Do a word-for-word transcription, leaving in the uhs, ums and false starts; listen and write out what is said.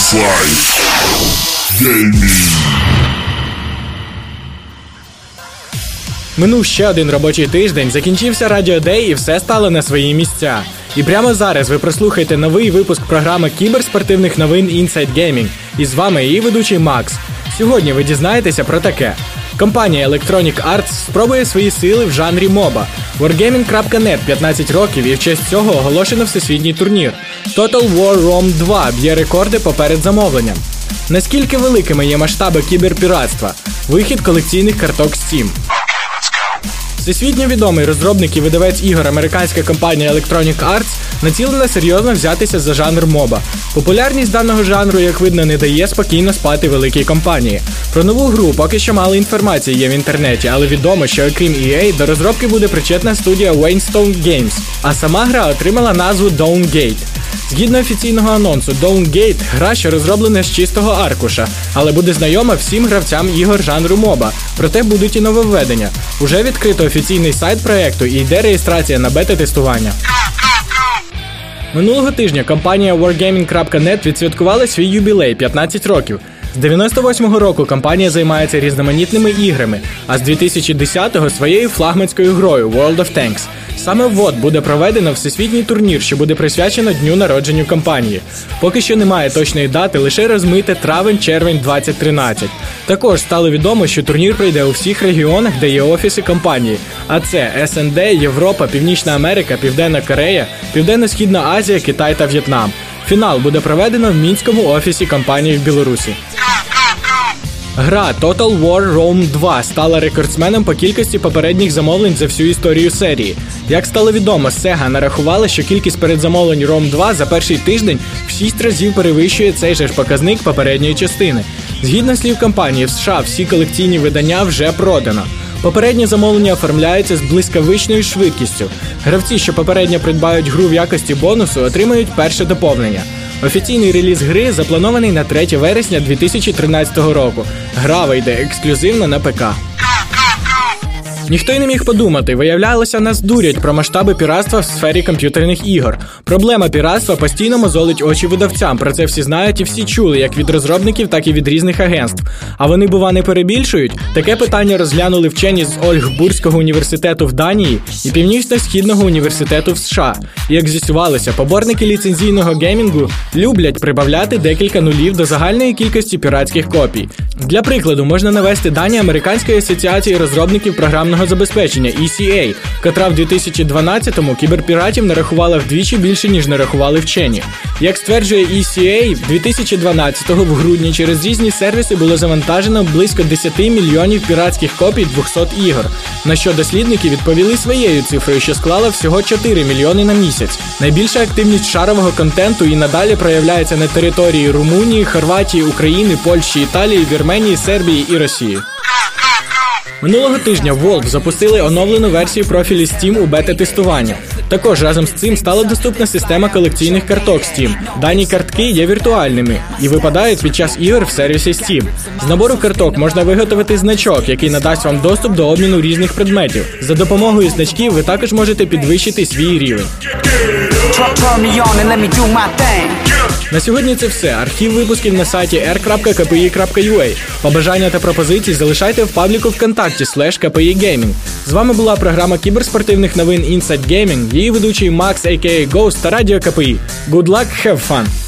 Inside Gaming. Минув ще один робочий тиждень, закінчився Radio Day і все стало на свої місця. І прямо зараз ви прослухаєте новий випуск програми кіберспортивних новин Inside Gaming. І з вами її ведучий Макс. Сьогодні ви дізнаєтеся про таке. Компанія Electronic Arts спробує свої сили в жанрі моба. Wargaming крапка нет п'ятнадцять років і в честь цього оголошено всесвітній турнір. Total War Rome два б'є рекорди поперед замовленням. Наскільки великими є масштаби кіберпіратства? Вихід колекційних карток Steam. Всесвітньо відомий розробник і видавець ігор американська компанія Electronic Arts націлена серйозно взятися за жанр моба. Популярність даного жанру, як видно, не дає спокійно спати великій компанії. Про нову гру поки що мало інформації є в інтернеті, але відомо, що окрім і ей, до розробки буде причетна студія Wayne Games, а сама гра отримала назву Dawngate. Згідно офіційного анонсу, Dawngate – гра, що розроблена з чистого аркуша, але буде знайома всім гравцям ігор жанру моба, проте будуть і нововведення. Уже відкрито офіційний сайт проєкту і йде реєстрація на бета-тестування. Минулого тижня компанія Wargaming крапка нет відсвяткувала свій юбілей – п'ятнадцять років. З дев'яносто восьмого року компанія займається різноманітними іграми, а з дві тисячі десятого своєю флагманською грою World of Tanks. Саме в-от буде проведено всесвітній турнір, що буде присвячено дню народженню компанії. Поки що немає точної дати, лише розмите травень-червень двадцять тринадцять. Також стало відомо, що турнір пройде у всіх регіонах, де є офіси компанії. А це ес ен де, Європа, Північна Америка, Південна Корея, Південно-Східна Азія, Китай та В'єтнам. Фінал буде проведено в Мінському офісі компанії в Білорусі. Гра Total War Rome два стала рекордсменом по кількості попередніх замовлень за всю історію серії. Як стало відомо, Sega нарахувала, що кількість передзамовлень Rome два за перший тиждень в шість разів перевищує цей же ж показник попередньої частини. Згідно слів компанії, в США всі колекційні видання вже продано. Попередні замовлення оформляються з блискавичною швидкістю. Гравці, що попередньо придбають гру в якості бонусу, отримають перше доповнення. Офіційний реліз гри запланований на третє вересня дві тисячі тринадцятого року. Гра вийде ексклюзивно на ПК. Ніхто й не міг подумати, виявлялося, нас дурять про масштаби піратства в сфері комп'ютерних ігор. Проблема піратства постійно мозолить очі видавцям, про це всі знають і всі чули, як від розробників, так і від різних агентств. А вони, бува, не перебільшують? Таке питання розглянули вчені з Ольгбурзького університету в Данії і Північно-Східного університету в США. І як з'ясувалося, поборники ліцензійного геймінгу люблять прибавляти декілька нулів до загальної кількості піратських копій. Для прикладу, можна навести дані Американської асоціації розробників програмного забезпечення і сі ей, котра в дві тисячі дванадцятому кіберпіратів нарахувала вдвічі більше, ніж нарахували вчені. Як стверджує і сі ей, в дві тисячі дванадцятому в грудні через різні сервіси було завантажено близько десять мільйонів піратських копій двохсот ігор, на що дослідники відповіли своєю цифрою, що склала всього чотири мільйони на місяць. Найбільша активність шарового контенту і надалі проявляється на території Румунії, Хорватії, України, Польщі, Італії, Вірменії, Сербії і Росії. Минулого тижня Valve запустили оновлену версію профілю Steam у бета-тестування. Також разом з цим стала доступна система колекційних карток Steam. Дані картки є віртуальними і випадають під час ігор в сервісі Steam. З набору карток можна виготовити значок, який надасть вам доступ до обміну різних предметів. За допомогою значків ви також можете підвищити свій рівень. На сьогодні це все. Архів випусків на сайті ар крапка ка пе і крапка ю а. Побажання та пропозиції залишайте в пабліку ВКонтакті слеш ка пе і Gaming. З вами була програма кіберспортивних новин Inside Gaming, її ведучий Макс, а ка а. Ghost та Радіо ка пе і. Good luck, have fun!